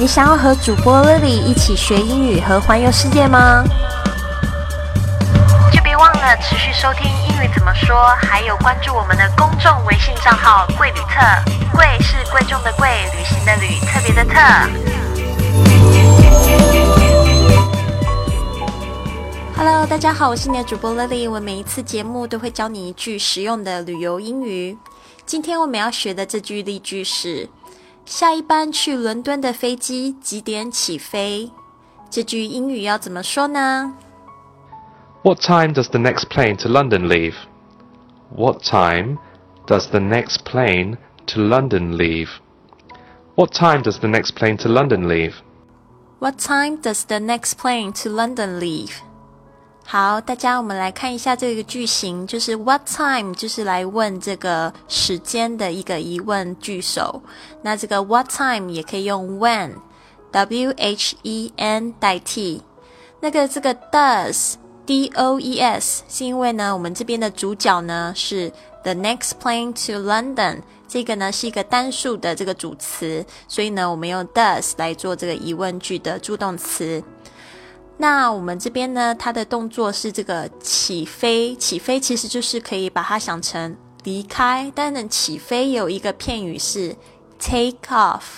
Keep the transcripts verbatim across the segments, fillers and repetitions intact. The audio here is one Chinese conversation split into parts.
你想要和主播 Lily 一起学英语和环游世界吗？就别忘了持续收听英语怎么说，还有关注我们的公众微信账号贵旅特，贵是贵重的贵，旅行的旅，特别的特。Hello， 大家好，我是你的主播 Lily， 我每一次节目都会教你一句实用的旅游英语。今天我们要学的这句例句是：下一班去伦敦的飞机几点起飞？这句英语要怎么说呢？ What time does the next plane to London leave? What time does the next plane to London leave? What time does the next plane to London leave? What time does the next plane to London leave? 好，大家我们来看一下这个句型，就是 what time 就是来问这个时间的一个疑问句首。那这个 what time 也可以用 when W H E N 代替。那个这个 does D O E S 是因为呢我们这边的主角呢是 the next plane to London， 这个呢是一个单数的这个主词，所以呢我们用 does 来做这个疑问句的助动词。那我们这边呢它的动作是这个起飞，起飞其实就是可以把它想成离开，但是起飞有一个片语是 take off，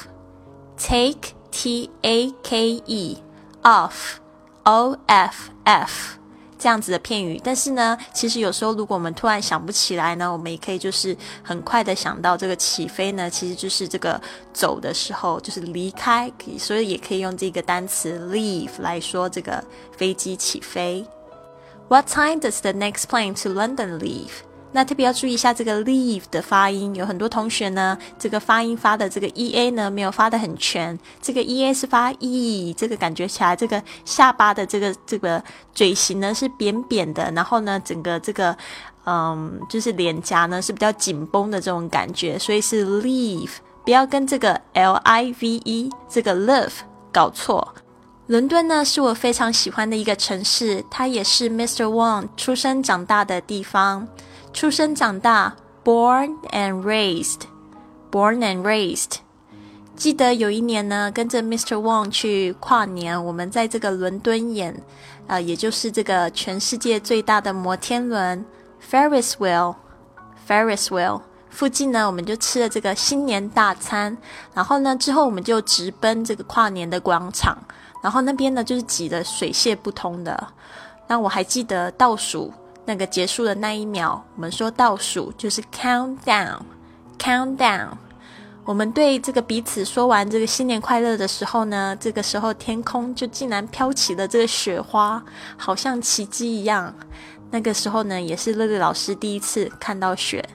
take T A K E off O F F 这样子的片语。但是呢其实有时候如果我们突然想不起来呢，我们也可以就是很快的想到这个起飞呢其实就是这个走的时候，就是离开，所以也可以用这个单词 leave 来说这个飞机起飞。 What time does the next plane to London leave? 那特别要注意一下这个 leave 的发音，有很多同学呢这个发音发的这个 E A 呢没有发得很全，这个 E A 是发 E， 这个感觉起来这个下巴的这个这个嘴型呢是扁扁的，然后呢整个这个嗯就是脸颊呢是比较紧绷的这种感觉，所以是 leave， 不要跟这个 L I V E 这个 live 搞错。伦敦呢是我非常喜欢的一个城市，它也是 Mister Wong 出生长大的地方。出生长大 born and raised born and raised 记得有一年呢跟着 Mister Wong 去跨年，我们在这个伦敦眼呃，也就是这个全世界最大的摩天轮 Ferris wheel Ferris wheel 附近呢我们就吃了这个新年大餐，然后呢之后我们就直奔这个跨年的广场，然后那边呢就是挤得水泄不通的。那我还记得倒数那个结束的那一秒，我们说倒数就是 countdown countdown。 我们对这个彼此说完这个新年快乐的时候呢，这个时候天空就竟然飘起了这个雪花，好像奇迹一样。那个时候呢也是乐乐老师第一次看到雪。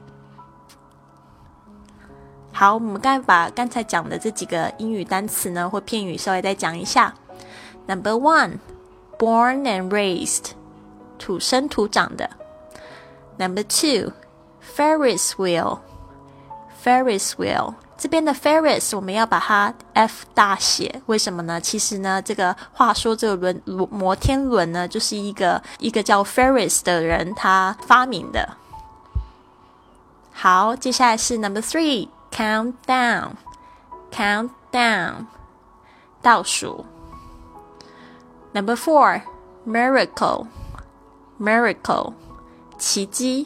好，我们刚才把刚才讲的这几个英语单词呢或片语稍微再讲一下。 Number one born and raised，土生土长的。 Number two Ferris wheel Ferris wheel 这边的 Ferris 我们要把它 F 大写，为什么呢？其实呢这个话说这个轮摩天轮呢就是一个一个叫 Ferris 的人他发明的。好，接下来是 Number three Countdown Countdown 倒数。 Number four Miracle Miracle 奇迹。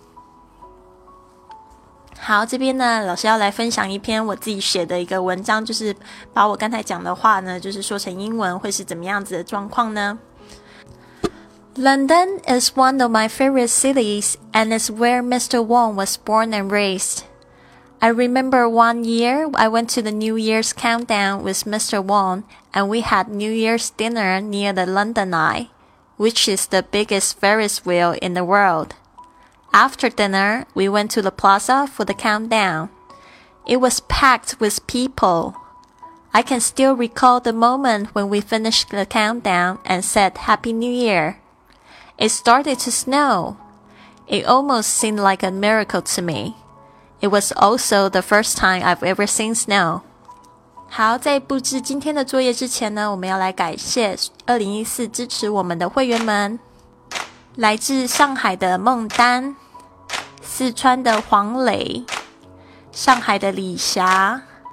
好，这边呢老师要来分享一篇我自己写的一个文章，就是把我刚才讲的话呢就是说成英文会是怎么样子的状况呢？ London is one of my favorite cities and is where Mister Wong was born and raised. I remember one year I went to the New Year's countdown with Mister Wong and we had New Year's dinner near the London Eye, which is the biggest Ferris wheel in the world. After dinner, we went to the plaza for the countdown. It was packed with people. I can still recall the moment when we finished the countdown and said Happy New Year. It started to snow. It almost seemed like a miracle to me. It was also the first time I've ever seen snow. 好，在布置今天的作业之前呢，我们要来感谢二零一四支持我们的会员们。来自上海的孟丹，四川的黄磊，上海的李霞，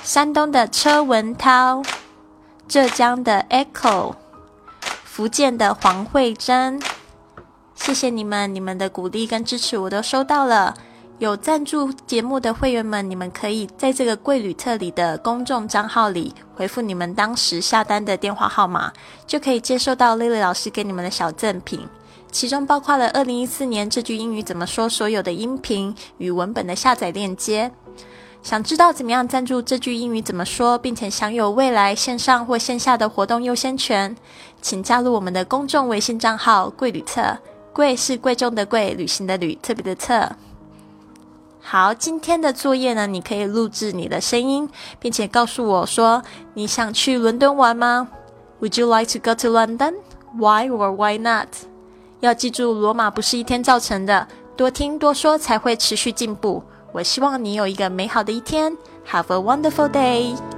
山东的车文涛，浙江的 Echo， 福建的黄慧珍。谢谢你们，你们的鼓励跟支持我都收到了。有赞助节目的会员们，你们可以在这个贵旅特里的公众账号里回复你们当时下单的电话号码，就可以接收到 Lily 老师给你们的小赠品，其中包括了二零一四年这句英语怎么说所有的音频与文本的下载链接。想知道怎么样赞助这句英语怎么说，并且享有未来线上或线下的活动优先权，请加入我们的公众微信账号贵旅特，贵是贵重的贵，旅行的旅，特别的特。好，今天的作业呢，你可以录制你的声音，并且告诉我说你想去伦敦玩吗？ Would you like to go to London? Why or why not? 要记住，罗马不是一天造成的，多听多说才会持续进步。我希望你有一个美好的一天。Have a wonderful day!